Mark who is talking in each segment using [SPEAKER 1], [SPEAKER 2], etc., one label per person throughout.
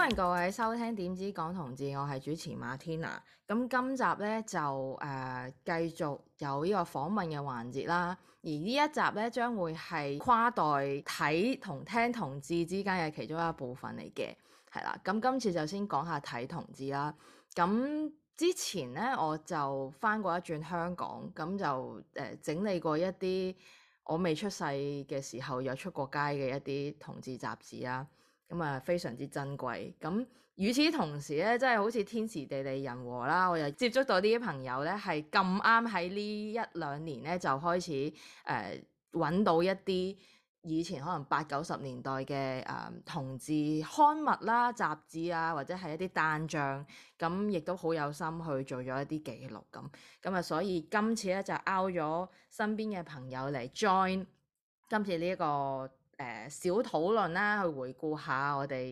[SPEAKER 1] 歡迎各位收聽點知講同志，我係主持馬天娜。咁今集咧就繼續有呢個訪問嘅環節啦。而呢一集咧將會係跨代睇同聽同志之間嘅其中一部分嚟嘅，係啦。咁今次就先講下睇同志啦。咁之前咧我就返過一轉香港，咁就整理過一啲我未出世嘅時候有出過街嘅一啲同志雜誌啦。咁啊，非常之珍貴。咁與此同時咧，真係好似天時地利人和啦。我又接觸到啲朋友咧，係咁啱喺呢一兩年咧，就開始揾到一啲以前可能80、90年代嘅同志刊物啦、雜誌啊，或者係一啲單張。咁亦都好有心去做咗一啲記錄咁啊，所以今次咧就邀咗身邊嘅朋友嚟 join 今次呢一個小討論啦，去回顧下我哋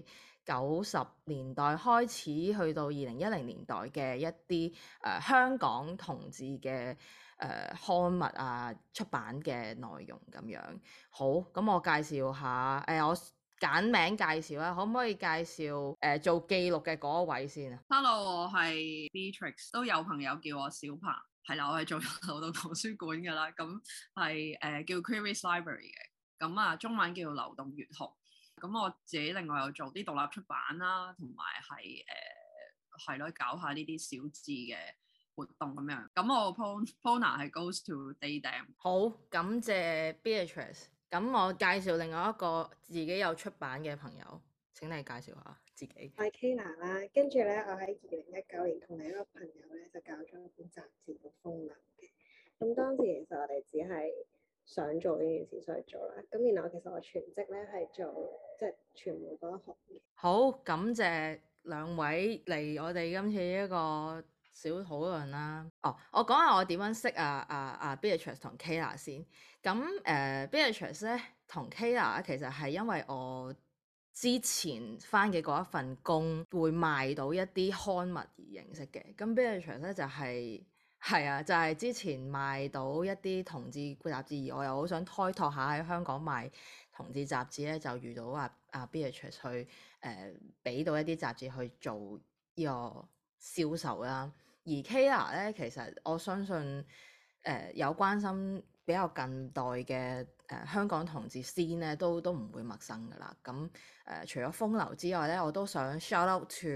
[SPEAKER 1] 90年代開始去到2010年代嘅一啲香港同志嘅刊物啊、出版嘅內容咁樣。好，咁我介紹下我簡名介紹啦，可唔可以介紹做記錄嘅嗰一位先啊
[SPEAKER 2] ？Hello，我係 Beatrix，都有朋友叫我小鵬，係啦，我係做流動圖書館㗎啦，咁係叫 Queries Library 嘅。咁啊，中文叫流動閱讀。咁我自己另外有做啲獨立出版啦，同埋係咯，搞下呢啲小誌嘅活動咁樣。咁我 Pona 係 Goes to Daydam。
[SPEAKER 1] 好，感謝 Beatrice。咁我介紹另外一個自己有出版嘅朋友，請你介紹下自己。
[SPEAKER 3] 我係 Kayla 啦，跟住咧，我喺2019年同另一個朋友咧就搞咗一本雜誌叫《風流》嘅。咁當時其實我哋只係想做呢件事，所以做啦。咁然後其實我全職咧係做即係傳媒嗰一行嘅。
[SPEAKER 1] 好，感謝兩位嚟我哋今次一個小討論啦。我講下我點樣識Beatrice 同 Kayla 先。咁Beatrice 咧同 Kayla 其實係因為我之前返嘅嗰一份工會賣到一啲刊物而認識嘅。咁 Beatrice 咧就係之前賣到一啲同志雜誌，而我又好想開拓下喺香港賣同志雜誌咧，就遇到Beatrice 去俾到一啲雜誌去做呢個銷售啦。而 Kayla 咧，其實我相信有關心比較近代嘅香港同志 scene 咧，都唔會陌生噶啦。咁除咗風流之外咧，我都想 shout out to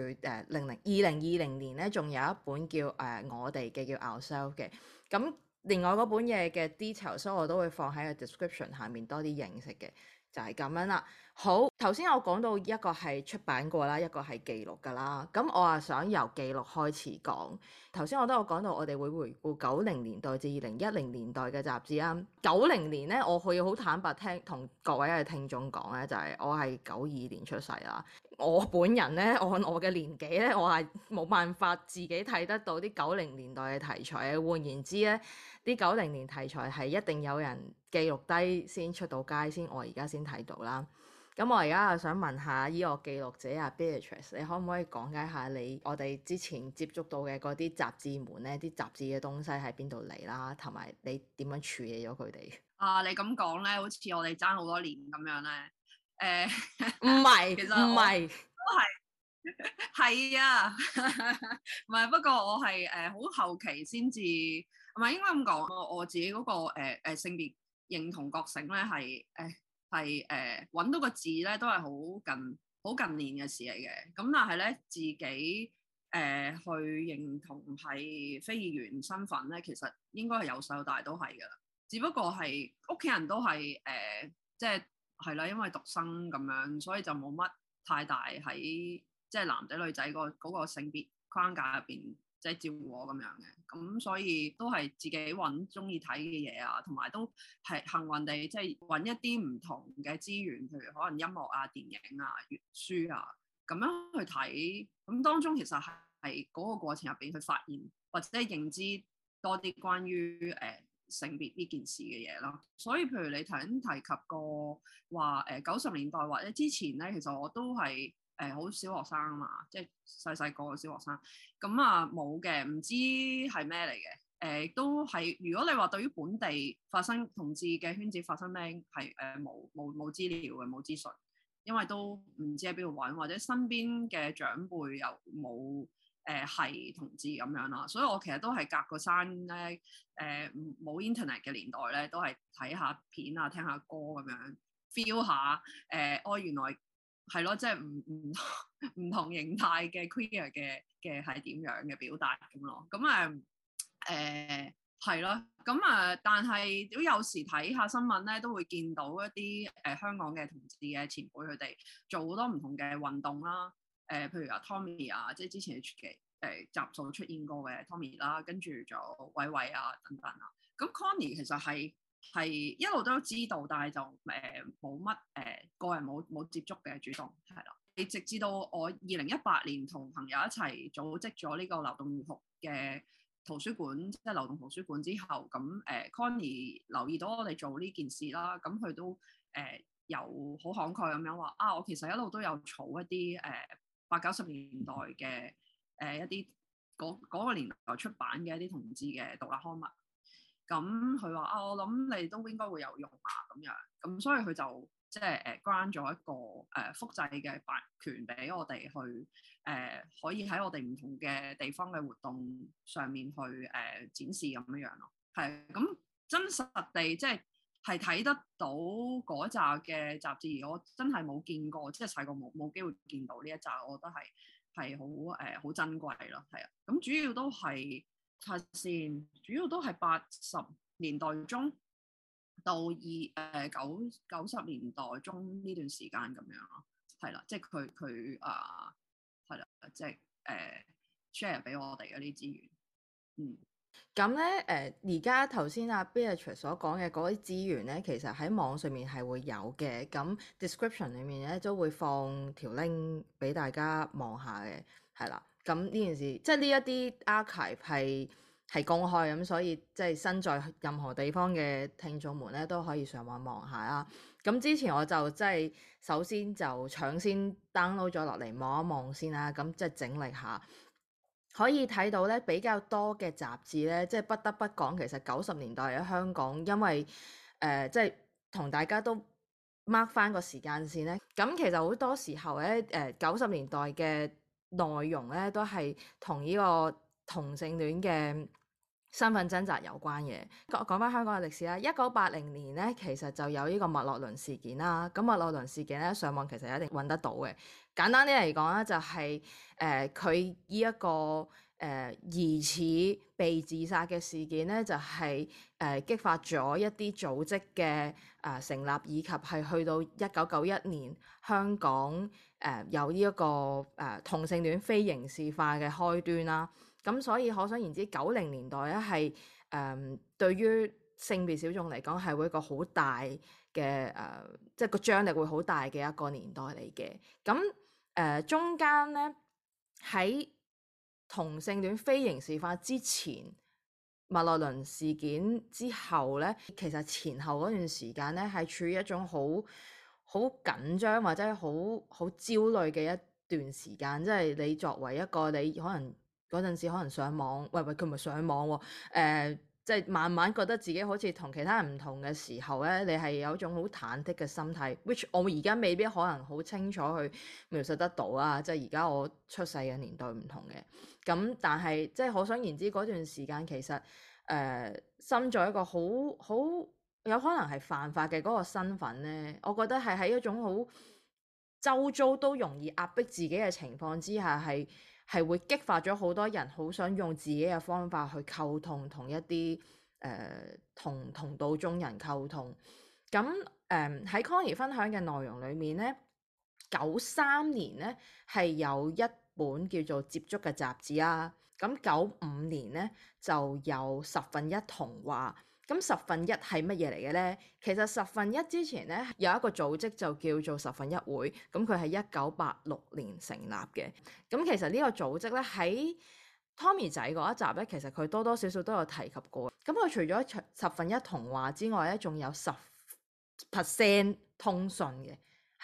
[SPEAKER 1] 2020年咧，仲有一本叫我哋嘅叫 Ourselves 嘅。咁另外嗰本嘢嘅 detail，所以我都會放喺個 description 下面多啲認識嘅。就係咁樣啦。好，頭先我講到一個係出版過啦，一個係記錄㗎啦。咁我啊想由記錄開始講。頭先我都有講到，我哋會回顧90年代至2010年代嘅雜誌啊。90年咧，我可以好坦白同各位嘅聽眾講咧，就係我係92年出世啦。我本人咧，按我嘅年紀咧，我係冇辦法自己睇得到啲90年代嘅題材嘅。換言之咧，啲90年題材係一定有人記錄低先出到街先，我而家先睇到啦。咁我而家就想問下呢個記錄者Beatrice，你可唔可以講解下我哋之前接觸到嘅嗰啲雜誌們咧，啲雜誌嘅東西喺邊度嚟啦，同埋你點樣處理咗佢哋？
[SPEAKER 2] 你咁講咧，好似我哋爭好多年咁樣咧。
[SPEAKER 1] 唔係，
[SPEAKER 2] 其實唔係，都係啊，唔係。不過我係好後期先至，唔係應該咁講。我自己嗰個性別認同覺醒咧，係揾到個字咧，都係好近年嘅事嚟嘅。咁但係咧，自己去認同係非議員身份咧，其實應該係由細到大都係噶啦。只不過係屋企人都係即係啦，因為獨生咁樣，所以就冇乜太大喺即係男仔女仔嗰個性別框架入邊，即係照顧我咁樣嘅。咁所以都係自己揾中意睇嘅嘢啊，同埋都係幸運地即係揾一啲唔同嘅資源，譬如可能音樂啊、電影啊、閱書啊咁樣去睇。咁當中其實係嗰個過程入邊去發現或者認知多啲關於性別呢件事嘅嘢咯。所以譬如你頭先提及過話90年代或者之前咧，其實我都係好小學生啊嘛，即係細個嘅小學生。咁啊冇嘅，唔知係咩嚟嘅。都係如果你話對於本地發生同志嘅圈子發生咩係冇資料嘅，冇資訊。 因為都唔知喺邊度揾，或者身邊嘅長輩又冇係同志咁樣啦，所以我其實都係隔個山咧，冇 internet 嘅年代咧，都係睇下片啊，聽下歌咁樣 feel 下原來係咯，即係唔同形態嘅 queer 嘅係點樣嘅表達咁咯，咁係咯，咁但係都有時睇下新聞咧，都會見到一啲香港嘅同志嘅前輩佢哋做好多唔同嘅運動啦，譬如阿 Tommy 啊，即係之前嘅集數出現過嘅 Tommy 啦，跟住仲有偉偉啊等等啊，咁 Connie 其實係一路都知道，但係就冇乜個人冇接觸嘅主動係啦，直至到我2018年同朋友一齊組織咗呢個流動學嘅圖書館，即係流動圖書館之後，咁Connie 留意到我哋做呢件事啦，咁佢都有好慷慨咁樣話啊，我其實一路都有儲一啲80、90年代嘅一啲嗰個年代出版嘅一啲同志嘅獨立刊物，咁佢話啊，我諗你都應該會有用啊咁樣，咁所以佢就即係grant 咗一個複製嘅版權俾我哋去可以喺我哋唔同嘅地方嘅活動上面去展示咁樣咯，係咁真實地即係睇得到嗰扎嘅雜誌，而我真係冇見過，即係細個冇機會見到呢一紮，我覺得係好珍貴咯，係啊，咁主要都係先，主要都係80年代中到90年代中呢段時間咁樣咯，係啦，即係佢係啦，即係share 俾我哋嗰啲資源，
[SPEAKER 1] 咁咧而家頭先阿 Beatrice 所講嘅嗰啲資源咧，其實喺網上面係會有嘅，咁 description 裡面咧都會放條 link 俾大家望下嘅，係啦。咁呢件事即係呢一啲 archive 係公開咁，所以即係身在任何地方嘅聽眾們咧都可以上網望下啦。咁之前我就即係首先就搶先 download 咗落嚟望一望先啦，咁即係整理下。可以睇到咧比較多嘅雜誌咧，即係不得不講，其實90年代喺香港，因為即係同大家都 mark 翻個時間線咧，咁其實好多時候咧90年代嘅內容咧都係同呢個同性戀嘅身份掙扎有關嘅。講翻香港嘅歷史啦，1980年咧其實就有呢個麥樂倫事件啦。咁麥樂倫事件咧上網其實一定揾得到嘅。簡單啲嚟講咧，就係佢呢一個疑似被自殺嘅事件咧，就係激發咗一啲組織嘅成立，以及係去到1991年香港有呢一個同性戀非刑事化嘅開端啦。咁所以可想而知，90年代咧係對於性別小眾嚟講係會一個好大嘅即係個張力會好大嘅一個年代嚟嘅。咁中間咧喺同性戀非刑事化之前，麥樂倫事件之後咧，其實前後嗰段時間咧係處於一種好緊張或者好焦慮嘅一段時間。即係你作為一個你可能嗰陣時可能上網，喂佢唔係上網喎，即係慢慢覺得自己好似同其他人唔同嘅時候咧，你係有一種好忐忑嘅心態 which 我而家未必可能好清楚去描述得到啊！即係而家我出世嘅年代唔同嘅，咁但係即係可想而知嗰段時間其實身在一個好有可能係犯法嘅嗰個身份咧，我覺得係喺一種好周遭都容易壓迫自己嘅情況之下，係會激發咗好多人好想用自己嘅方法去溝通，同一啲同道中人溝通。咁喺 Connie 分享嘅內容裡面咧，93年咧係有一本叫做《接觸》嘅雜誌啦。咁95年咧就有10分一童話。咁10分一係乜嘢嚟嘅咧？其實10分一之前咧有一個組織就叫做10分一會，咁佢係1986年成立嘅。咁其實呢個組織咧喺 Tommy 仔嗰一集咧，其實佢多多少少都有提及過。咁佢除咗10分一童話之外咧，仲有10% 通訊嘅，係啦。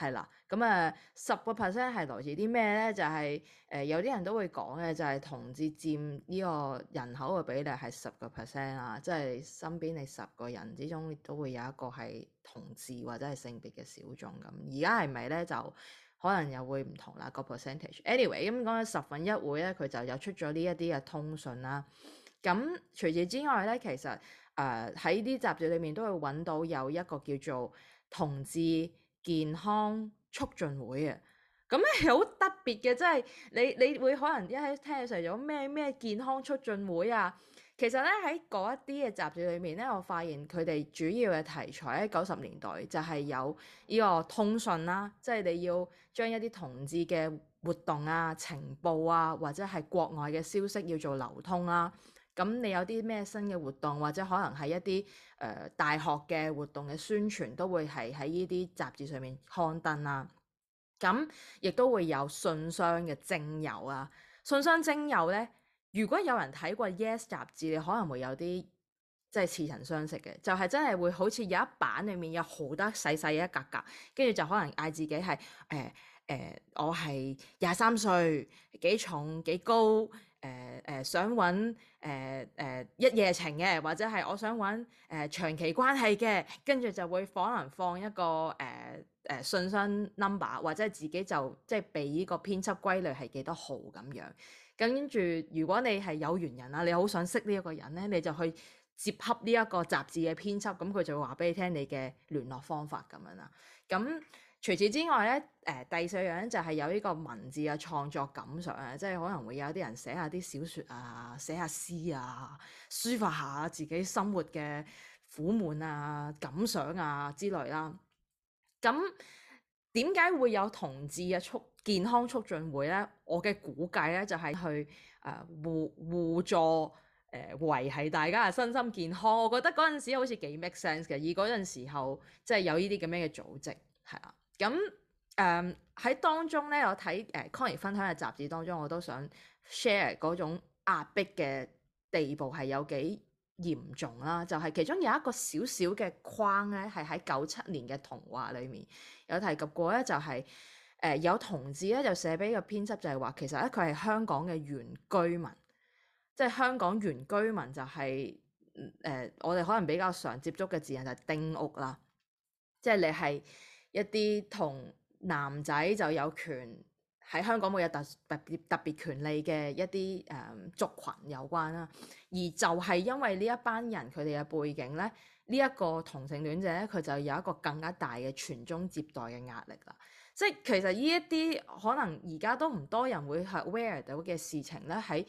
[SPEAKER 1] 咁10% 係來自啲咩咧？就係、有啲人都會講嘅，就係同志佔呢個人口嘅比例係10% 啊，即係身邊你10個人之中都會有一個係同志或者係性別嘅小眾咁。而家係咪咧就可能又會唔同啦個 percentage。Anyway，咁講緊1/10會咧，佢就有出咗呢一啲嘅通訊啦。咁除此之外咧，其實喺啲雜誌裏面都會揾到有一個叫做同志健康促進會嘅，咁係好特別嘅，即係你會可能一喺聽起上嚟咗咩健康促進會啊？其實咧喺嗰一啲嘅雜誌裏面咧，我發現佢哋主要嘅題材喺90年代就係有呢個通訊啦，即係你要將一啲同志嘅活動啊、情報啊，或者係國外嘅消息要做流通啦。咁你有啲咩新嘅活動，或者可能係一啲大學嘅活動嘅宣傳，都會係喺呢啲雜誌上面刊登啦。咁亦都會有信箱嘅徵友啊。信箱徵友咧，如果有人睇過 Yes 雜誌，你可能會有啲即係似曾相識嘅，就係真係會好似有一版裡面有好多細細一格格，跟住就可能嗌自己係我係23歲，幾重幾高。想揾一夜情嘅，或者係我想揾長期關係嘅，跟住就會可能放一個信箱 number， 或者自己就即係被呢個編輯歸類係幾多號咁樣。跟住如果你係有緣人啊，你好想識呢一個人咧，你就去接洽呢一個雜誌嘅編輯，咁佢就會話俾你聽你嘅聯絡方法咁樣啦。咁除此之外咧，第4樣就係有呢個文字嘅創作感想啊，即係可能會有啲人寫下啲小説啊，寫下詩啊，抒發下自己生活嘅苦悶啊、感想啊之類啦。咁點解會有同志嘅健康促進會咧？我嘅估計咧就係去互助維繫大家嘅身心健康。我覺得嗰陣時好似幾 make sense 嘅，而嗰陣時候即係有呢啲咁樣嘅組織係啦。咁喺當中咧，我睇Connie 分享嘅雜誌當中，我都想 share 嗰種壓迫嘅地步係有幾嚴重啦。就係其中有一個小小嘅框咧，係喺97年嘅童話裡面有提及過咧，就係有同志咧就寫俾個編輯，就係話其實咧佢係香港嘅原居民，即係香港原居民就係我哋可能比較常接觸嘅字眼就係丁屋啦，即係你係一啲同男仔就有權喺香港會有特別權利嘅一啲族群有關啦，而就係因為呢一班人佢哋嘅背景咧，呢一個同性戀者咧佢就有一個更加大嘅傳宗接代嘅壓力啦。即係其實呢一啲可能而家都唔多人會係 aware 到嘅事情咧，喺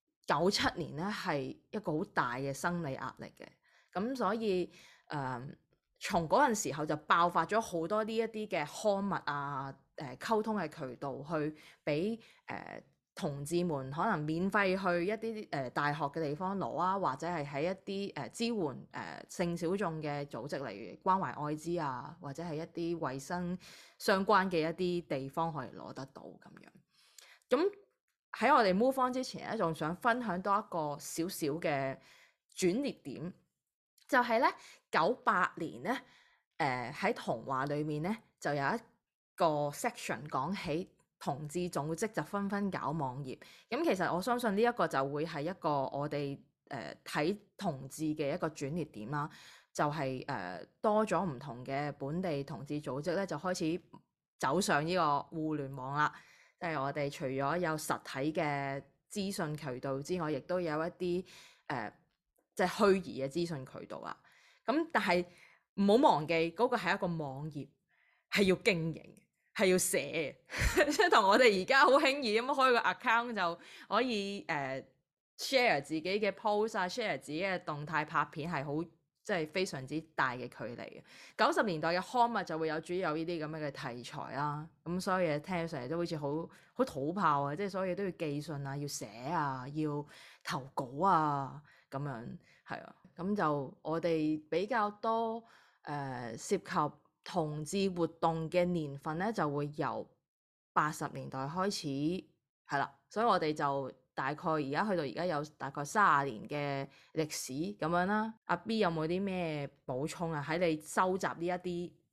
[SPEAKER 1] 97年咧係一個好大嘅生理壓力嘅。咁所以從嗰陣時候就爆發咗好多呢一啲嘅刊物啊、溝通嘅渠道，去俾同志們可能免費去一啲大學嘅地方攞啊，或者係喺一啲支援性小眾嘅組織，例如關懷愛滋啊，或者係一啲衞生相關嘅一啲地方可以攞得到咁樣。咁喺我哋 move on 之前咧，仲想分享多一個少少嘅轉捩點。就係咧98年咧，喺童話裏面咧就有一個 section 講起同志組織就紛紛搞網頁。咁其實我相信呢一個就會係一個我哋睇同志嘅一個轉捩點啦。就係多咗唔同嘅本地同志組織咧，就開始走上呢個互聯網啦。即係我哋除咗有實體嘅資訊渠道之外，亦都有一啲即係虛擬嘅資訊渠道啊。咁但係唔好忘記嗰個係一個網頁，係要經營，係要寫嘅，即係同我哋而家好輕易咁開個 account 就可以share 自己嘅 post 啊，share 自己嘅動態拍片，係好即係非常之大嘅距離嘅。90年代嘅刊物就會有主要有呢啲咁樣嘅題材啦。咁所以聽上嚟都好似好土炮啊，即係所有嘢都要寄信啊，要寫啊，要投稿啊咁樣。係啊，咁就我哋比較多涉及同志活動嘅年份咧，就會由80年代開始係啦，所以我哋就大概而家去到而家有大概30年嘅歷史咁樣啦。阿 B 有冇啲咩補充啊？喺你收集呢一啲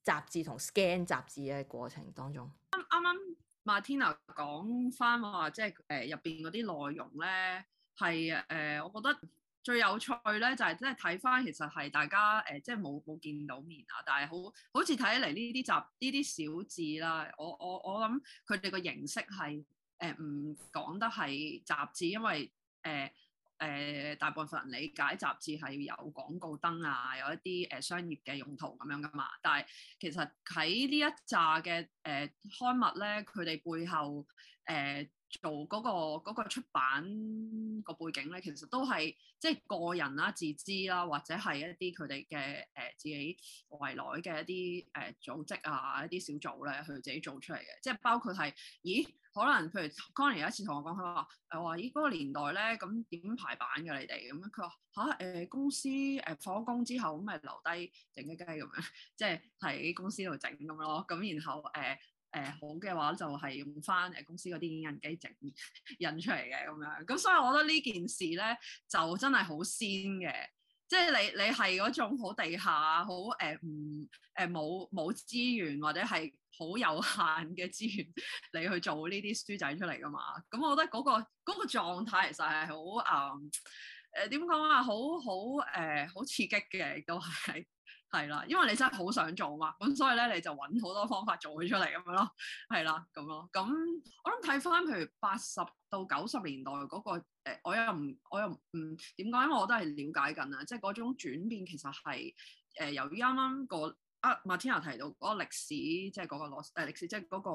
[SPEAKER 1] 雜誌同 scan 雜誌嘅過程當中。
[SPEAKER 2] 啱啱 Martina 講翻話，即係入邊嗰啲內容咧，係我覺得最有趣咧，就係即係睇翻其實係大家即係冇見到面啊，但係好似睇起嚟呢啲小字啦，我諗佢哋個形式係唔講得係雜誌，因為大部分人理解雜誌係有廣告燈啊，有一啲商業嘅用途咁樣噶嘛。但係其實喺呢一紮嘅刊物咧，佢哋背後做嗰個出版個背景咧，其實都係即係個人啦、自資啦，或者係一啲佢哋嘅自己圍內嘅一啲組織啊、一啲小組咧，佢自己做出嚟嘅。即係包括係，咦？可能譬如 Connie 有一次同我講，佢話咦嗰個年代咧，咁點排版嘅你哋咁樣？佢話公司放咗工之後咁咪留低靜雞雞咁樣，即係喺公司度整咁咯。咁然後好嘅話就係用翻公司嗰啲影印機整印出嚟嘅咁樣。咁所以我覺得呢件事咧就真係好先嘅。即係你係嗰種好地下好冇資源或者係好有限嘅資源你去做呢啲書仔出嚟㗎嘛？咁我覺得嗰個狀態其實係好點講啊？好刺激嘅，亦都係啦，因為你真係好想做嘛，咁所以咧你就揾好多方法做佢出嚟咁樣咯，係啦咁咯。咁我諗睇翻譬如80到90年代嗰個我又唔點講，因為我都係了解緊啊，即係嗰種轉變其實係由於啱啱個Martina 提到嗰個歷史，即係嗰個歷史，即係嗰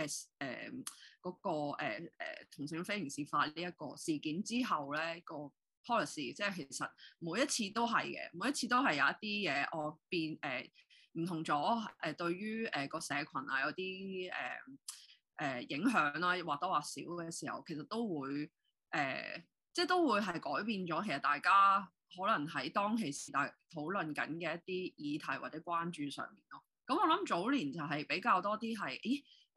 [SPEAKER 2] 個同性非刑事化呢一個事件之後咧個 policy， 即係其實每一次都係嘅，每一次都係有一啲嘢我變唔同咗對於個社群啊有啲影響啦，或多或少嘅時候，其實都會即係都會係改變咗。其實大家可能喺當其時討論緊嘅一啲議題或者關注上面咯。咁我諗早年就係比較多啲係，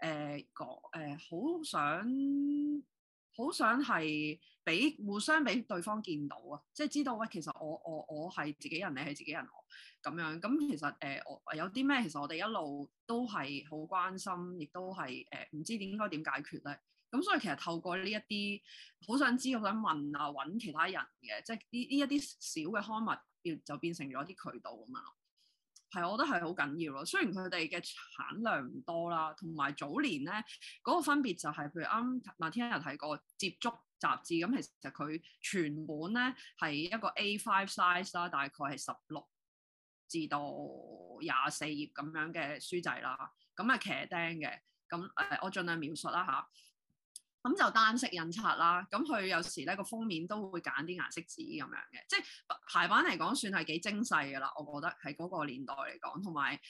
[SPEAKER 2] 好想係互相俾對方見到啊，即係知道喂，其實我係自己人，你係自己人，我咁樣。咁其實我有啲咩，其實我哋一路都係好關心，亦都係唔知應該點解決咧。咁所以其實透過呢一啲好想知、好想問啊，揾其他人嘅，即係呢一啲小嘅刊物，就變成咗啲渠道咁樣咯。係，我覺得係好緊要咯。雖然佢哋嘅產量唔多啦，同埋早年咧嗰個分別就係，譬如啱 Martina 提過接觸雜誌，咁其實佢全本咧係一個 A5 size 啦，大概係16至到24頁咁樣嘅書仔啦，咁啊騎釘嘅。咁我盡量描述啦嚇。咁就單色印刷啦，咁佢有時咧個封面都會揀啲顏色紙咁樣嘅，即係排版嚟講算係幾精細㗎啦，我覺得喺嗰個年代嚟講，同埋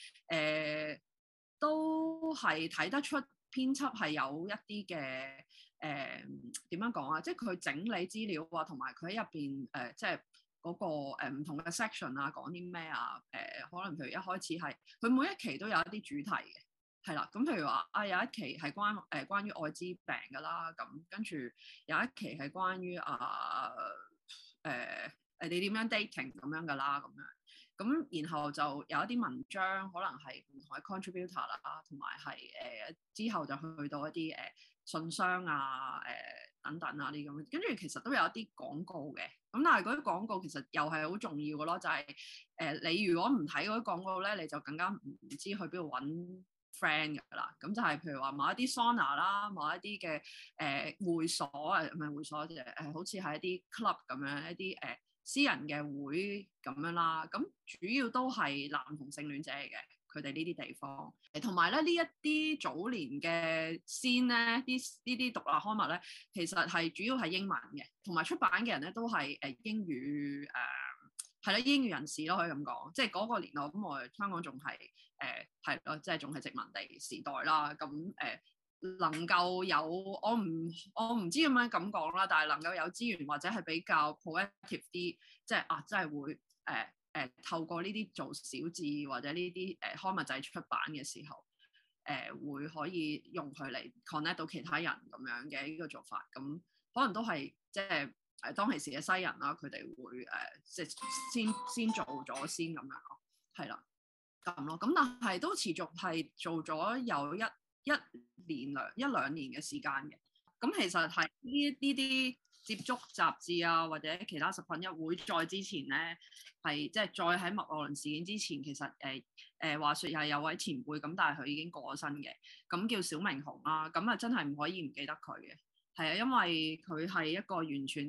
[SPEAKER 2] 都係睇得出編輯係有一啲嘅點樣講啊，即係佢整理資料啊，同埋佢喺入邊即係嗰個唔同嘅 section 啊，講啲咩啊，可能譬如一開始係佢每一期都有一啲主題嘅。係啦，咁譬如話有一期係關於愛滋病㗎啦，咁跟住有一期係關於你點樣 dating 咁樣㗎啦，咁樣咁然後就有一啲文章可能係唔同嘅 contributor 啦，同埋係之後就去到一啲信箱啊等等啊啲咁，跟住其實都有一啲廣告嘅，咁但係嗰啲廣告其實又係好重要嘅咯，就係你如果唔睇嗰啲廣告咧，你就更加唔知去邊度揾friend 㗎啦，咁就係譬如話某一啲 sauna 啦，某一啲嘅會所啊，唔係會所嘅好似係一啲 club 咁樣，一啲私人嘅會咁樣啦。咁主要都係男同性戀者嚟嘅，佢哋呢啲地方。同埋咧呢一啲早年嘅先咧，呢啲獨立刊物咧，其實係主要係英文嘅，同埋出版嘅人咧都係英語係啦，英語人士咯，可以咁講，即係嗰個年代咁，我哋香港仲係係咯，即係仲係殖民地時代啦。咁能夠有我唔知咁樣咁講啦，但係能夠有資源或者係比較 proactive 啲，即係真係會透過呢啲做小字或者呢啲刊物仔出版嘅時候，會可以用佢嚟 connect 到其他人咁樣嘅呢個做法，咁可能都係即係。當其時嘅西人啦，佢哋會即係先做咗先咁樣咯，係啦。 咁咯。咁但係都持續係做咗有一兩年嘅時間嘅。咁其實係呢啲接觸雜誌啊，或者其他食品一會再之前咧，係即係再喺麥樂倫事件之前，其實話説又係有位前輩咁，但係佢已經過咗身嘅，咁叫小明雄啦。咁啊真係唔可以唔記得佢嘅，係啊，因為佢係一個完全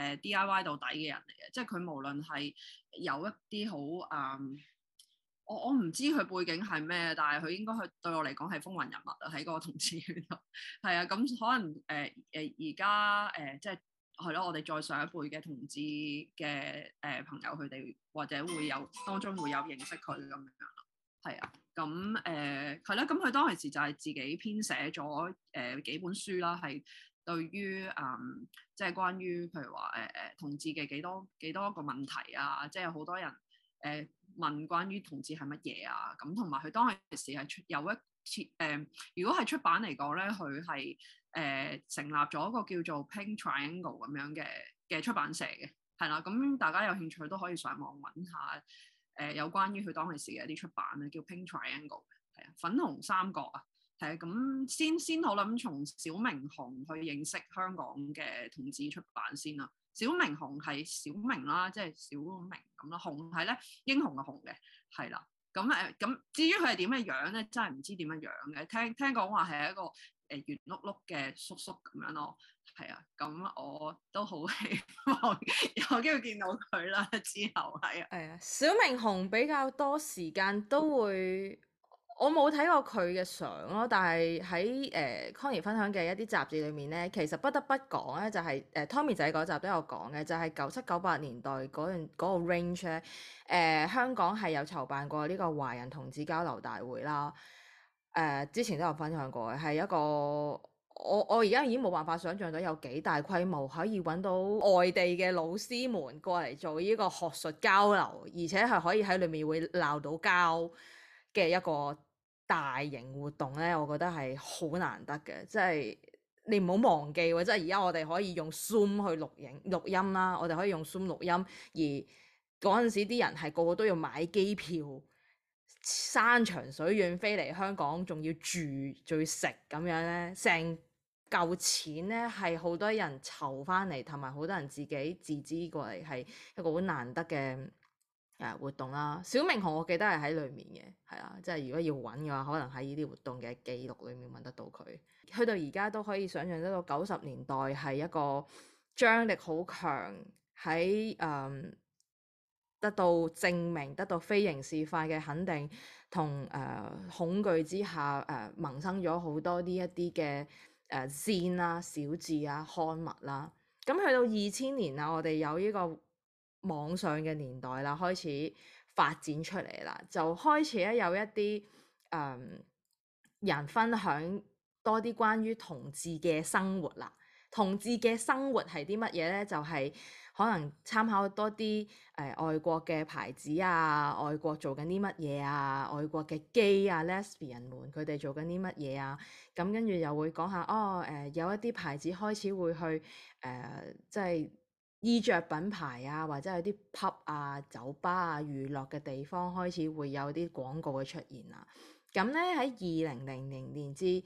[SPEAKER 2] DIY 到底嘅人嚟嘅，即係佢無論係有一啲好我唔知佢背景係咩，但係佢應該對我嚟講係風雲人物啊，喺嗰個同志圈度。係啊，咁可能而家即係係咯，我哋再上一輩嘅同志嘅朋友，佢哋或者會有當中會有認識佢咁樣咯。係啊，咁係啦，咁佢當其時就係自己編寫咗幾本書啦，係對於即係關於譬如話同志嘅幾多個問題啊，即係有好多人問關於同志係乜嘢啊，咁同埋佢當其時係有一次如果係出版嚟講咧，佢係成立咗一個叫做 Pink Triangle 咁樣嘅出版社嘅，係啦，咁大家有興趣都可以上網揾下有關於佢當其時嘅一啲出版咧，叫 Pink Triangle， 係啊，粉紅三角啊，係啊，咁先好諗從小明雄去認識香港嘅同志出版先啦。小明雄係小明啦，即係小明咁啦。雄係咧英雄嘅雄嘅，係啦。咁至於佢係點嘅樣咧，真係唔知點樣樣嘅。聽講話係一個圓碌碌嘅叔叔咁樣咯。係啊，咁我都好希望有機會見到佢啦。之後係啊，
[SPEAKER 1] 係啊，小明雄比較多時間都會。我冇睇過佢嘅相咯，但係喺Connie 分享嘅一啲雜誌裏面咧，其實不得不講咧，就係Tommy 仔嗰集都有講嘅，就係97、98年代嗰個 range 咧，香港係有籌辦過呢個華人同志交流大會啦。之前都有分享過嘅，係一個我而家已經冇辦法想像到有幾大規模可以揾到外地嘅老師們過嚟做呢個學術交流，而且係可以喺裏面會鬧到交嘅一個大型活動咧，我覺得係好難得嘅，即係你唔好忘記喎，即係而家我哋可以用 Zoom 去錄音啦，我哋可以用 Zoom 錄音，而嗰陣時啲人係個個都要買機票，山長水遠飛嚟香港，仲要住，仲要食咁樣咧，成嚿錢咧係好多人籌翻嚟，同埋好多人自己自資過嚟，係一個好難得嘅活動啦。小明雄我記得係喺裏面嘅，係啊，即係如果要揾嘅話，可能喺呢啲活動嘅記錄裏面揾得到佢。去到而家都可以想象得到90年代係一個張力好強，喺得到證明、得到非刑事化嘅肯定同恐懼之下萌生咗好多呢一啲嘅zine啦、小誌啊、刊物啦。咁去到2000年啦，我哋有呢個網上嘅年代啦，開始發展出嚟啦，就開始咧有一啲人分享多啲關於同志嘅生活啦。同志嘅生活係啲乜嘢咧？就係可能參考多啲外國嘅牌子啊，外國做緊啲乜嘢啊，外國嘅 gay 啊、lesbian 們佢哋做緊啲乜嘢啊，咁跟住又會講下有一啲牌子開始會去即係衣着品牌啊，或者有啲 pub 啊、酒吧啊、娛樂嘅地方開始會有啲廣告嘅出現啊。咁咧喺2000年至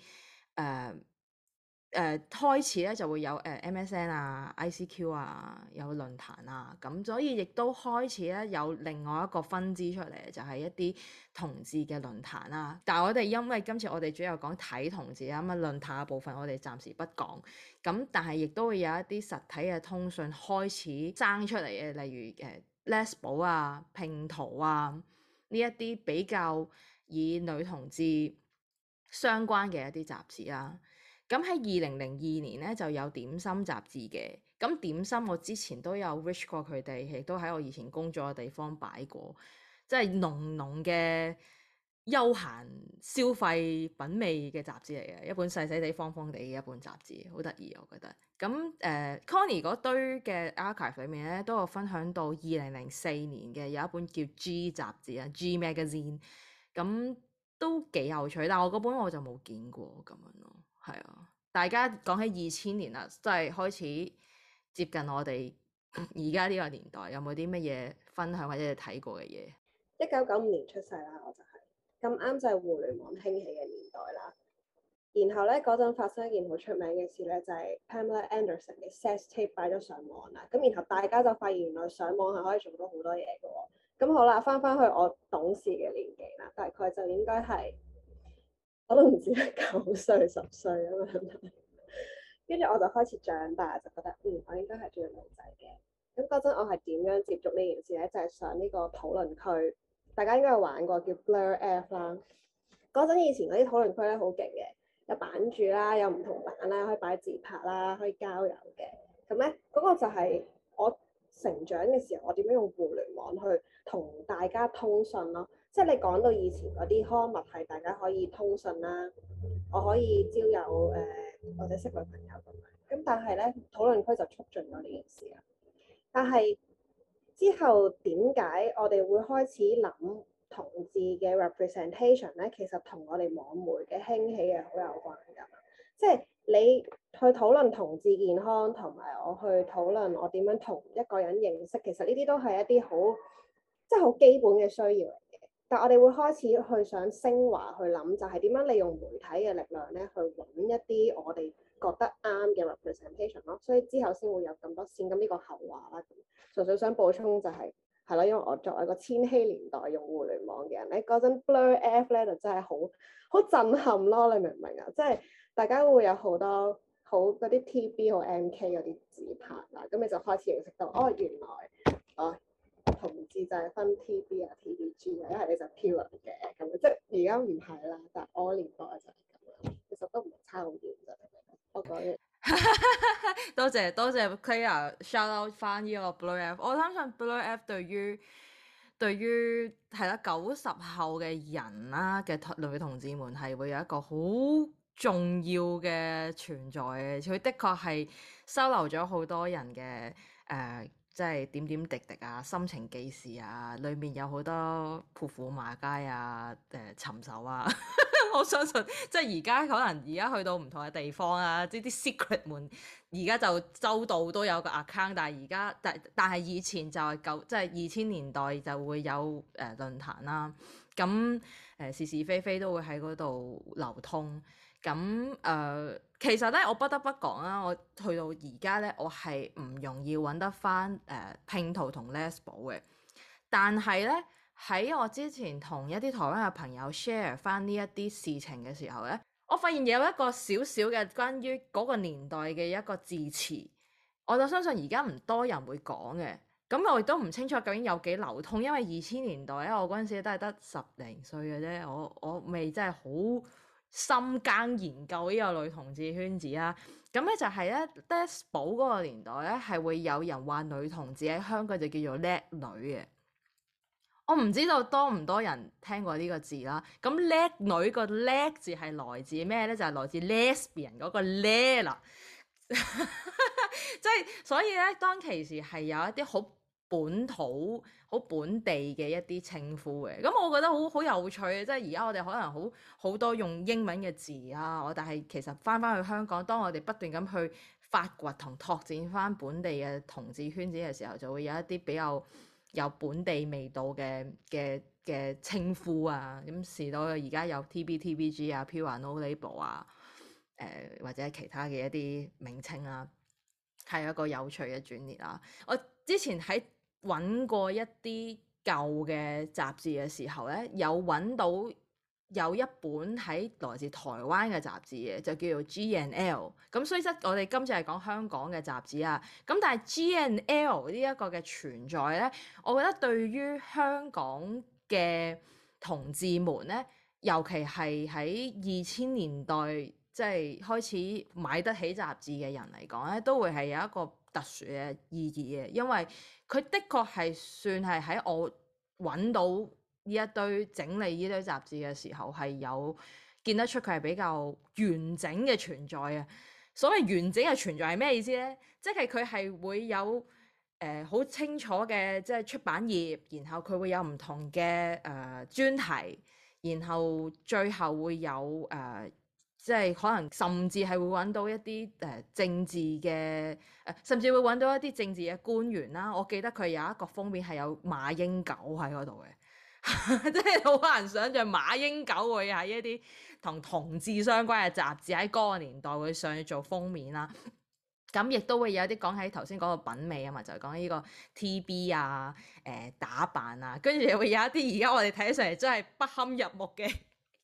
[SPEAKER 1] 開始咧就會有MSN 啊、ICQ 啊，有論壇啊，咁所以亦都開始咧有另外一個分支出嚟，就係一啲同志嘅論壇啦。但係我哋因為今次我哋主要講睇同志啊，咁啊論壇嘅部分我哋暫時不講。咁但係亦都會有一啲實體嘅通訊開始生出嚟嘅，例如Lesbo 啊、拼圖啊呢一啲比較以女同志相關嘅一啲雜誌啦。咁喺2002年咧就有點心雜誌嘅，咁點心我之前都有 reach 過佢哋，亦都喺我以前工作嘅地方擺過，即係濃濃嘅休閒消費品味嘅雜誌嚟嘅，一本細細地方方地嘅一本雜誌，好得意我覺得。咁Connie 嗰堆嘅 archive 裏面咧都有分享到2004年嘅有一本叫 G 雜誌啊 G Magazine， 咁都幾有趣，但係我嗰本我就冇見過咁樣咯。係啊，大家講起2000年啦，真係開始接近我哋而家呢個年代，有冇啲乜嘢分享或者你睇過嘅嘢？
[SPEAKER 3] 1995年出世啦，我就係咁啱就係互聯網興起嘅年代啦。然後咧嗰陣發生一件好出名嘅事咧，就係 Pamela Anderson 嘅 sex tape 擺咗上網啦。咁然後大家就發現原來上網係可以做到好多嘢嘅喎。咁好啦，翻去我懂事嘅年紀啦，大概就應該係我都唔知係9歲10歲咁樣。跟住我就開始長大，就覺得我應該係中意女仔嘅。咁嗰陣我係點樣接觸呢件事咧？就係上呢個討論區，大家應該有玩過叫 Blur F 啦。嗰陣以前嗰啲討論區咧好勁嘅，有版主啦，有唔同版啦，可以擺自拍啦，可以交友嘅。咁咧嗰個就係我成長嘅時候，我點樣用互聯網去同大家通訊咯。即係你講到以前嗰啲刊物係大家可以通訊啦，我可以交友或者識女朋友咁樣。咁但係咧討論區就促進咗呢件事啦。但係之後點解我哋會開始諗同志嘅 representation 咧？其實同我哋網媒嘅興起係好有關㗎。即係你去討論同志健康，同埋我去討論我點樣同一個人認識，其實呢啲都係一啲好即係好基本嘅需要嚟嘅。但我哋會開始去想升華去諗，就係點樣利用媒體嘅力量咧，去揾一啲我哋覺得啱嘅 representation 咯。所以之後先會有咁多線。咁呢個後話啦。純粹想補充就係咯，因為我作為一個千禧年代用互聯網嘅人咧，嗰陣 Blur F 咧就真係好震撼咯。你明唔明啊？即係大家會有好多好嗰啲 TB 好 MK 嗰啲自拍啦，咁你就開始認識到原來同志就係分 TB 啊 TBG 啊，一係你就 pure 嘅咁樣，即係而家唔係啦，但係我年代就係咁樣，其實都唔係差好遠啫。我講完。
[SPEAKER 1] 多謝 Clara shout out 翻呢個 Blur F。我相信 Blur F 對於係啦90後嘅人啦嘅女同志們係會有一個好重要嘅存在嘅。佢的確係收留咗好多人嘅即係點點滴滴啊、心情記事啊，裡面有好多潑婦罵街啊、尋仇啊。我相信即係而家可能而家去到唔同嘅地方啊，呢啲 secret 門而家就周到都有個 account， 但係而家但係以前就係即係2000年代就會有論壇啦，咁是是非非都會喺嗰度流通。咁其實咧，我不得不講啦，我去到而家咧，我係唔容易揾得翻拼圖同 Lesbo 嘅，但係咧。喺我之前同一啲台灣嘅朋友 share 翻呢一啲事情嘅時候咧，我發現有一個小小嘅關於嗰個年代嘅一個字詞，我就相信而家唔多人會講嘅。咁我亦都唔清楚究竟有幾流通，因為2000年代咧，我嗰陣時都係得10零歲嘅啫，我未真係好深耕研究呢個女同志圈子啦。咁咧就係咧 Lesbo 嗰個年代咧，係會有人話女同志喺香港就叫做叻女嘅。我唔知道多唔多人聽過呢個字啦。咁叻女個叻字係來自咩咧？就係來自 lesbian 嗰個叻啦。即係所以咧，當其時係有一啲好本土、好本地嘅一啲稱呼嘅。咁我覺得好有趣嘅，即係而家我哋可能好多用英文嘅字啊，但係其實翻去香港，當我哋不斷咁去發掘同拓展翻本地嘅同志圈子嘅時候，就會有一啲比較有本地味道嘅稱呼啊，咁時到而家有 TB、TBG 啊、Pure No Label 啊，或者其他嘅一啲名稱啊，係一個有趣嘅轉捩啦。我之前喺揾過一啲舊嘅雜誌嘅時候咧，有揾到有一本喺來自台灣嘅雜誌嘅，就叫做 G&L。咁雖則我哋今次係講香港嘅雜誌啊，咁但係 G&L 呢一個嘅存在咧，我覺得對於香港嘅同志們咧，尤其係喺2000年代即係開始買得起雜誌嘅人嚟講咧，都會係有一個特殊嘅意義嘅，因為佢的確係算係喺我揾到呢一堆整理呢堆雜誌嘅時候，係有見得出佢係比較完整嘅存在啊！所謂完整嘅存在係咩意思咧？即係佢係會有好清楚嘅即係出版業，然後佢會有唔同嘅專題，然後最後會有即係可能甚至係會揾到一啲政治嘅甚至會揾到一啲政治嘅官員啦。我記得佢有一個封面係有馬英九喺嗰度嘅。 即係好難想像馬英九會喺一啲同同志相關嘅雜誌喺嗰個年代會上去做封面啦。咁亦都會有啲講喺頭先講個品味啊嘛，就係講呢個 TB 啊、打扮啊，跟住又會有一啲而家我哋睇上嚟真係不堪入目嘅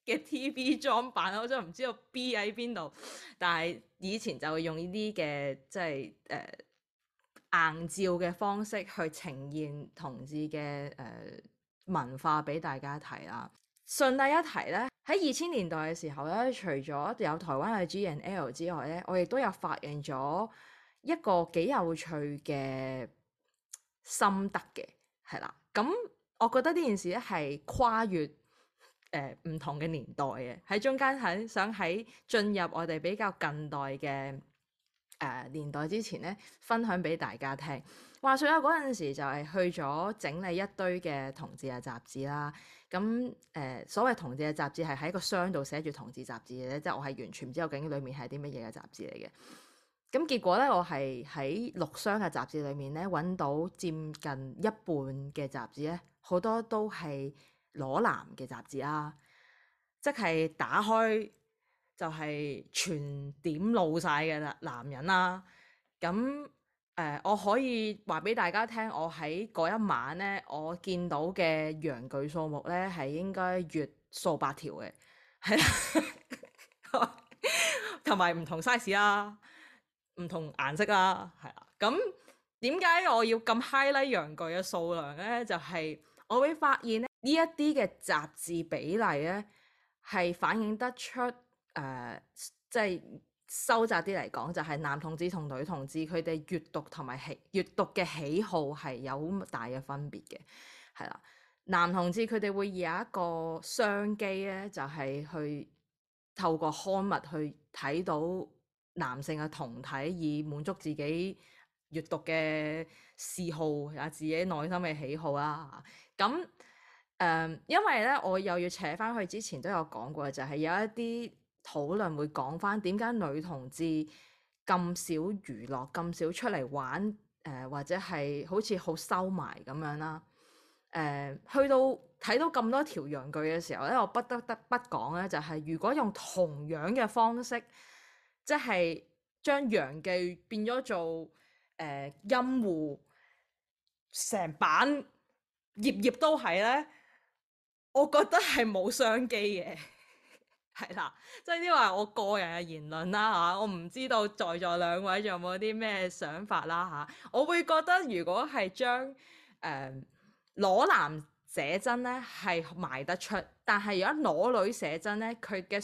[SPEAKER 1] TB 裝扮，我真係唔知道 B 喺邊度。但係以前就會用呢啲嘅即係硬照嘅方式去呈現同志嘅文化俾大家睇啦。順帶一提咧，喺2000年代嘅時候咧，除咗有台灣嘅 G&L 之外咧，我亦都有發現咗一個幾有趣嘅心得嘅，係啦。咁我覺得呢件事咧係跨越唔同嘅年代嘅，喺中間想喺進入我哋比較近代嘅年代之前咧，分享俾大家聽。話說有嗰陣時就係去咗整理一堆嘅同志嘅雜誌啦。咁所謂同志嘅雜誌係喺個箱度寫住同志雜誌嘅咧，即係我係完全唔知道究竟裡面係啲乜嘢嘅雜誌嚟嘅。咁結果咧，我係喺6箱嘅雜誌裡面咧揾到佔近一半嘅雜誌咧，好多都係裸男嘅雜誌啦，即係打開就係全點露晒嘅男人啦。咁我可以話俾大家聽，我喺嗰一晚咧，我見到嘅陽具數目咧係應該越數百條嘅，係啦，同埋唔同 size 啦，唔同顏色啦，係啦。咁點解我要咁 highlight 陽具嘅數量咧？就係我會發現咧，呢一啲嘅雜誌比例咧係反映得出即係。收窄啲嚟講，就係男同志同女同志佢哋閱讀同埋閱讀嘅喜好係有好大嘅分別嘅，係啦。男同志佢哋會有一個商機咧，就係去透過刊物去睇到男性嘅同體，以滿足自己閱讀嘅嗜好啊，自己內心嘅喜好啦。咁因為咧，我又要扯翻去之前都有講過，就係有一啲討論會講翻點解女同志咁少娛樂，咁少出嚟玩，或者係好似好收埋咁樣啦。去到睇到咁多條陽具嘅時候咧，我不得不講咧，就係如果用同樣嘅方式，即係將陽具變咗做陰戶，成版頁頁都係咧，我覺得係冇商機嘅。係啦，即係呢個係我個人嘅言論啦嚇，我唔知道在座兩位仲有冇啲咩想法啦嚇。我會覺得如果係將裸男寫真咧係賣得出，但係如果裸女寫真咧，佢嘅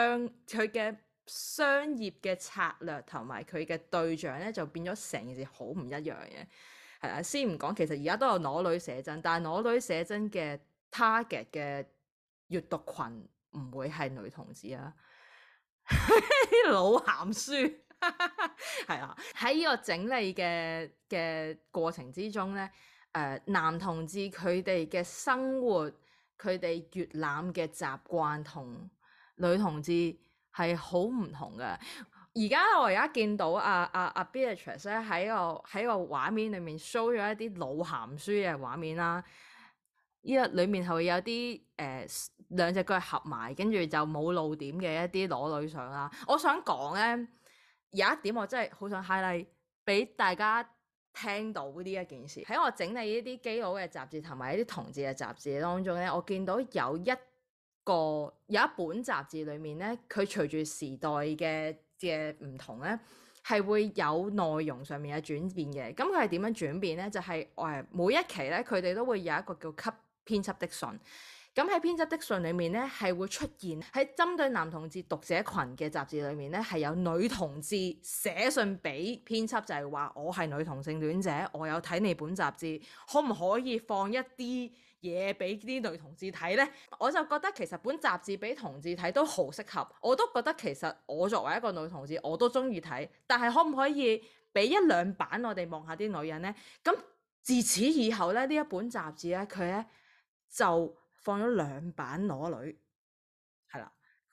[SPEAKER 1] 商業嘅策略同埋佢嘅對象咧就變咗成件事好唔一樣嘅。係啦，先唔講，其實而家都有裸女寫真，但係裸女寫真嘅 target 嘅閱讀群唔會係女同志啊，老鹹書係啦。喺呢個整理嘅過程之中咧，男同志佢哋嘅生活，佢哋閲覽嘅習慣同女同志係好唔同嘅。我而家見到阿 Beatrice 咧喺個畫面裏面 show 咗一啲老鹹書嘅畫面啦。呢個裡面係會有啲兩隻腳合埋，跟住就冇露點嘅一啲裸女相啦。我想講咧，有一點我真係好想 highlight 俾大家聽到呢一件事。喺我整理呢啲基佬嘅雜誌同埋一啲同志嘅雜誌當中咧，我見到有一本雜誌裡面咧，佢隨住時代嘅唔同咧，係會有內容上面嘅轉變嘅。咁佢係點樣轉變咧？就係每一期咧，佢哋都會有一個叫給編輯的信。咁喺編輯的信裏面咧，係會出現喺針對男同志讀者群嘅雜誌裏面咧，係有女同志寫信俾編輯，就係話我係女同性戀者，我有睇你本雜誌，可唔可以放一啲嘢俾啲女同志睇呢？我就覺得其實本雜誌俾同志睇都好適合，我都覺得其實我作為一個女同志我都中意睇，但係可唔可以俾一兩版我哋望下啲女人呢？咁自此以後咧，呢一本雜誌咧，佢咧就放咗2版裸女，係啦。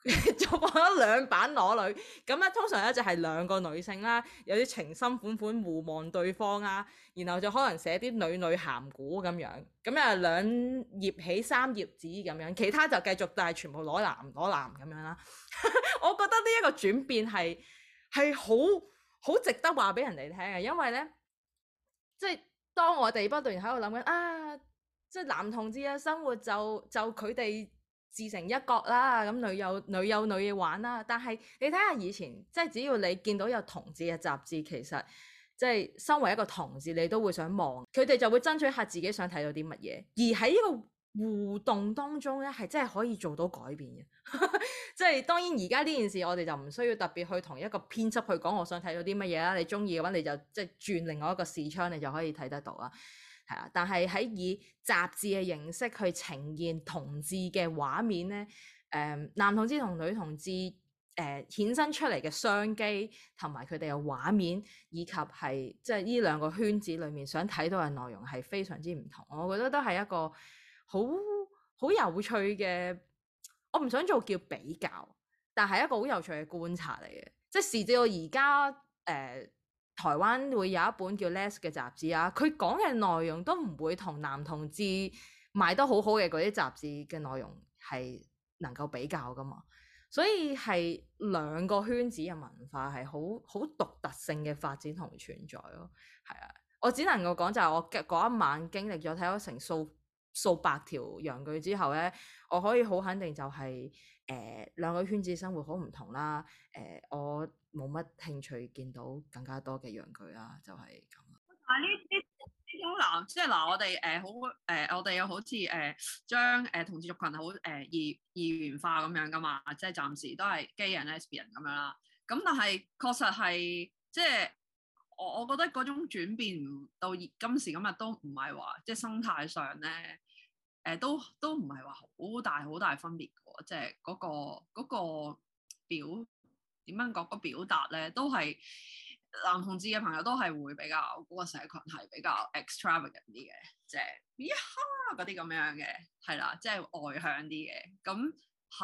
[SPEAKER 1] 就放咗兩版裸女，咁咧通常咧就係兩個女性啦，有啲情深款款互望對方啦，然後就可能寫啲女女鹹古咁樣，咁啊兩頁起三頁紙咁樣，其他就繼續但係全部裸男咁樣啦。我覺得呢一個轉變係好值得話俾人哋聽嘅，因為咧即係當我哋不斷喺度諗緊啊，即係男同志嘅生活就佢哋自成一角啦，咁女有女嘢玩啦。但係你睇下以前，即係只要你見到有同志嘅雜誌，其實即係身為一個同志，你都會想望，佢哋就會爭取下自己想睇到啲乜嘢。而喺呢個互動當中咧，係真係可以做到改變嘅。即係當然而家呢件事，我哋就唔需要特別去同一個編輯去講，我想睇到啲乜嘢啦。你中意嘅話，你就即係轉另外一個視窗，你就可以睇得到啦。係啊，但係喺以雜誌嘅形式去呈現同志嘅畫面咧，男同志同女同志衍生出嚟嘅商機同埋佢哋嘅畫面，以及係即係呢兩個圈子裡面想睇到嘅內容係非常之唔同。我覺得都係一個好有趣嘅，我唔想做叫比較，但係一個好有趣嘅觀察嚟嘅。即係時至到而家台灣會有一本叫《Les》嘅雜誌啊，佢講嘅內容都唔會同男同志賣得好好嘅嗰啲雜誌嘅內容係能夠比較㗎嘛，所以係兩個圈子嘅文化係好獨特性嘅發展同存在咯。係啊，我只能夠講就係我嗰一晚經歷咗睇咗成數百條陽具之後咧，我可以好肯定就係兩個圈子生活好唔同啦。我冇乜興趣見到更加多嘅陽具啦，就係咁。
[SPEAKER 2] 但係呢種男，即係嗱，我哋好我哋又好似將同志族群好二元化咁樣噶嘛，即係暫時都係 gay 人 lesbian 咁樣啦。咁但係確實係即係我覺得嗰種轉變到今時今日都唔係話即係生態上咧都唔係話好大分別嘅喎，即係嗰個表。點樣講個表達咧，都係男同志嘅朋友都係會比較嗰個社群係比較 extravagant 啲嘅，即係呀嗰啲咁樣嘅，係啦，即係外向啲嘅，咁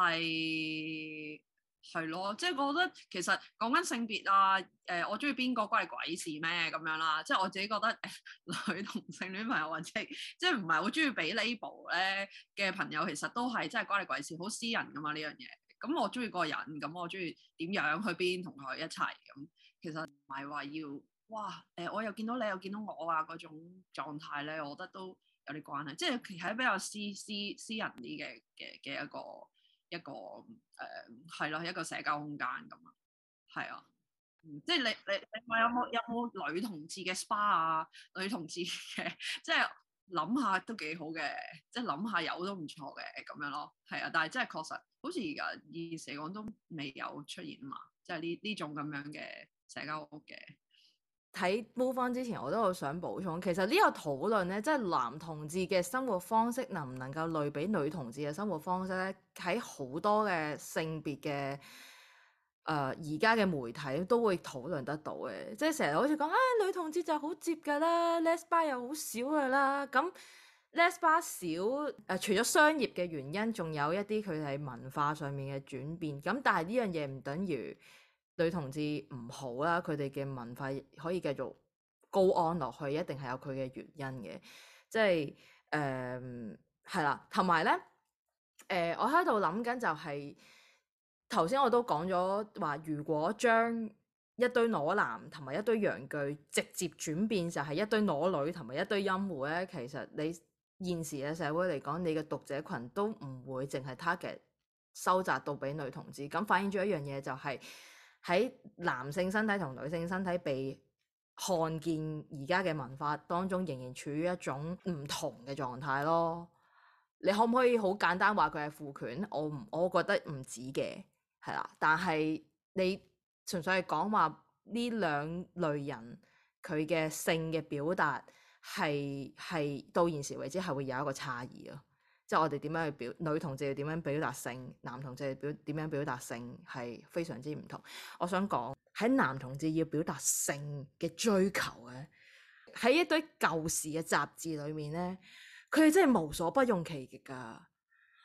[SPEAKER 2] 係咯，即係我覺得其實講緊性別啊，我中意邊個關你鬼事咩咁樣啦，即係我自己覺得女同性戀朋友或者即係唔係好中意俾 label 咧嘅朋友，其實都係真係關你鬼事，好私人噶嘛呢樣嘢。咁我中意個人，咁我中意點樣去邊同佢一齊咁，其實唔係話要哇我又見到你又見到我啊嗰種狀態咧，我覺得都有啲關係，即係其實比較私人啲嘅一個係咯一個社交空間咁啊，係啊，即係你話有冇女同志嘅 SPA 啊，女同志嘅即係。諗下都幾好嘅，即係諗下有都唔錯嘅咁樣咯，係啊，但係真係確實好似而家現時嚟講都未有出現嘛，即係呢種咁樣嘅社交屋嘅。
[SPEAKER 1] 睇 Move On 之前，我都好想補充，其實呢個討論咧，即係男同志嘅生活方式能唔能夠類比女同志嘅生活方式咧，喺好多嘅性別嘅而家嘅媒體都會討論得到嘅，即係成日好似講女同志就好接㗎啦，lesbian 又好少㗎啦。咁 lesbian 少除咗商業嘅原因，仲有一啲佢哋文化上面嘅轉變。咁但係呢樣嘢唔等於女同志唔好啦，佢哋嘅文化可以繼續高安落去，一定係有佢嘅原因嘅。即係係啦，同埋咧我喺度諗緊就係。頭先我都講咗話，如果將一堆裸男同埋一堆陽具直接轉變就係一堆裸女同埋一堆陰戶咧，其實你現時嘅社會嚟講，你嘅讀者群都唔會淨係 target 收窄到俾女同志，咁反映咗一樣嘢就係喺男性身體同女性身體被看見而家嘅文化當中，仍然處於一種唔同嘅狀態咯。你可唔可以好簡單話佢係父權？我覺得唔止嘅。係啦，但係你純粹係講話呢兩類人佢嘅性嘅表達係到現時為止係會有一個差異咯，即係我哋點樣去女同志要點樣表達性，男同志點樣表達性係非常之唔同。我想講喺男同志要表達性嘅追求咧，喺一堆舊時嘅雜誌裏面咧，佢哋真係無所不用其極㗎。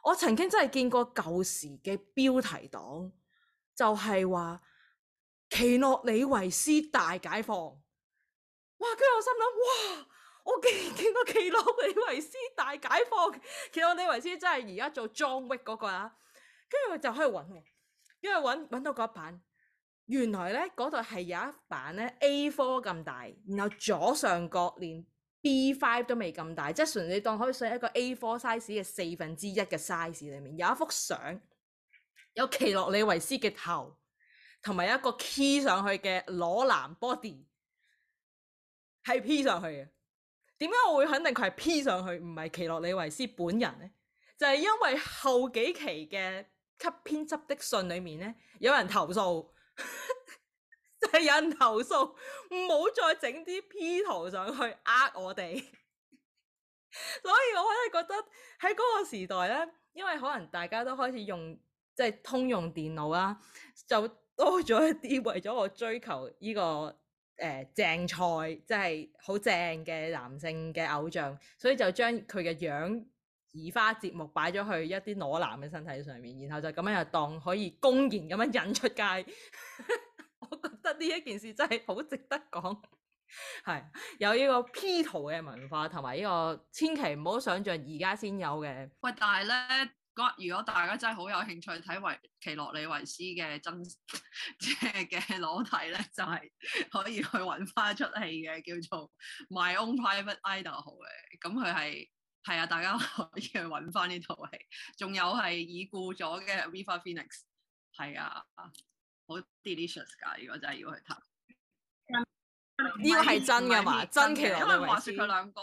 [SPEAKER 1] 我曾經真係見過舊時嘅標題黨，就係話奇諾里維斯大解放。哇！跟住我心諗，哇！我竟然見過奇諾里維斯大解放。奇諾里維斯真係而家做 John Wick 嗰個啦。跟住我就喺度揾喎，因為揾到嗰一版，原來咧嗰度係有一版咧 A4 咁大，然後左上角連 B5 都未咁大，即係純你當可以寫一個 A4 size 嘅1/4嘅 size 裏面有一幅相，有奇諾里維斯嘅頭，同埋一個 key 上去嘅裸男 body， 係 P 上去嘅。點解我會肯定佢係 P 上去，唔係奇諾里維斯本人呢？就係因為後幾期嘅給編輯的信裏面呢，有人投訴，就係有人投訴唔好再整啲 P 圖上去我哋。所以我真係覺得喺嗰個時代呢，因為可能大家都開始用即係通用電腦啦，就多咗一啲為咗我追求呢個正菜，即係好正嘅男性嘅偶像，所以就將佢嘅樣移花接木擺咗去一啲裸男嘅身體上面，然後就咁樣又當可以公然咁樣引出街。我覺得呢一件事真係好值得講，係有呢個 P 圖嘅文化，同埋呢個千祈唔好想像而家先有嘅。
[SPEAKER 2] 喂，但係咧，如果大家真係好有興趣睇奇諾里維斯嘅真即係嘅裸體咧，就係、是、可以去揾翻一出戲嘅，叫做 My Own Private Idaho 嘅。咁佢係啊，大家可以去揾翻呢套戲。仲有係已故咗嘅 River Phoenix， 係啊，好 delicious 㗎！如果真係要去睇，
[SPEAKER 1] 呢個係真㗎嘛？真奇諾里維斯，
[SPEAKER 2] 因為話説佢兩個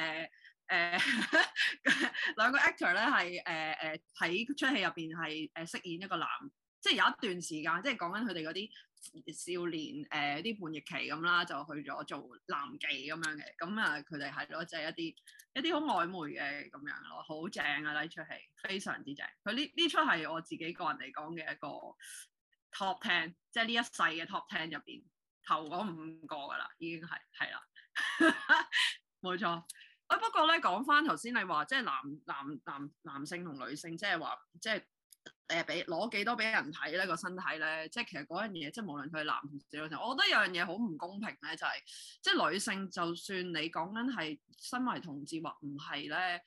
[SPEAKER 2] 兩個 actor 咧係喺出戲入邊係飾演一個男，即係有一段時間，即係講緊佢哋嗰啲少年啲叛逆期咁啦，就去咗做男妓咁樣嘅。咁啊佢哋係咯，即係一啲好曖昧嘅咁樣咯，好正啊！呢出戲非常之正。佢呢出係我自己個人嚟講嘅一個 top 10，即係呢一世嘅 top 10入邊頭嗰5個㗎啦，已經係啦，冇錯。不過咧，講翻頭先你話，即係男性同女性，即係話，即係俾攞幾多俾人睇呢個身體咧，即係其實嗰樣嘢，即係無論佢係男同女性，我覺得有樣嘢好唔公平咧，就係即係女性，就算你講緊係身為同志或唔係咧，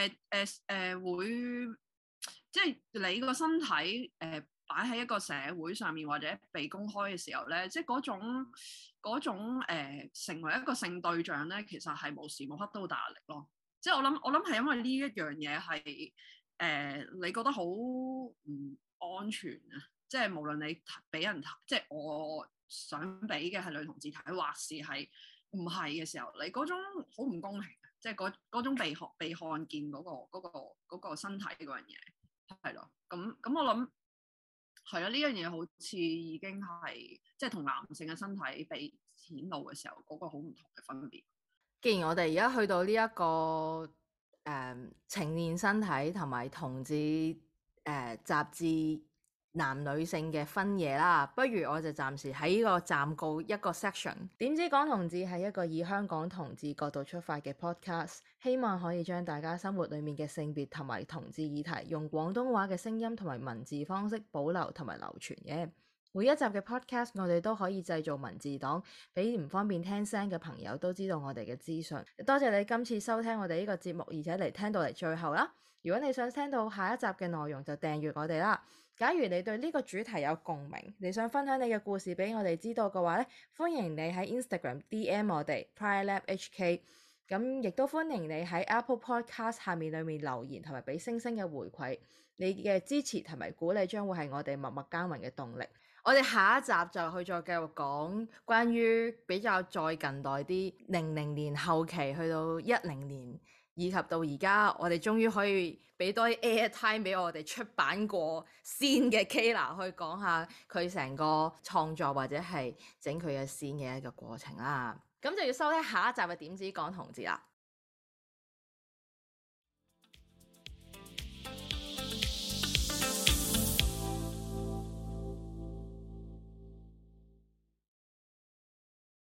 [SPEAKER 2] 會即係你個身體擺喺一個社會上面或者被公開嘅時候咧，即係嗰種成為一個性對象咧，其實係無時無刻都好大壓力咯。即係我諗係因為呢一樣嘢係你覺得好唔安全啊！即係無論你俾人睇，即係我想俾嘅係女同志睇，或是係唔係嘅時候，你嗰種好唔公平，即係嗰種被看見嗰個身體嗰樣嘢係咯。咁我諗。係啊，呢樣嘢好似已經係即係同男性嘅身體被顯露嘅時候嗰個好唔同嘅分別。
[SPEAKER 1] 既然我哋而家去到呢一個呈現身體同埋同志雜誌男女性嘅分野啦，不如我就暫時喺呢個暫告一個 section。點知港同志係一個以香港同志角度出發嘅 podcast， 希望可以將大家生活裡面嘅性別同埋同志議題，用廣東話嘅聲音同埋文字方式保留同埋流傳嘅。每一集嘅 podcast 我哋都可以製造文字檔，俾唔方便聽聲嘅朋友都知道我哋嘅資訊。多謝你今次收聽我哋呢個節目，而且嚟聽到嚟最後啦。如果你想聽到下一集嘅內容，就訂閱我哋啦。假如你對呢個主題有共鳴，你想分享你嘅故事俾我哋知道嘅話咧，歡迎你喺 Instagram DM 我哋 PrideLabHK， 咁亦都歡迎你喺 Apple Podcast 下面裏面留言同埋俾星星嘅回饋，你嘅支持同埋鼓勵將會係我哋默默耕耘嘅動力。我哋下一集就去再繼續講關於比較再近代啲00年後期去到10年。以及到而家，我哋終於可以俾多啲 airtime 俾我哋出版過先嘅 Kayla 去講下佢成個創作或者係整佢嘅先嘅一個過程啦。咁就要收聽下一集嘅點止港同志啦。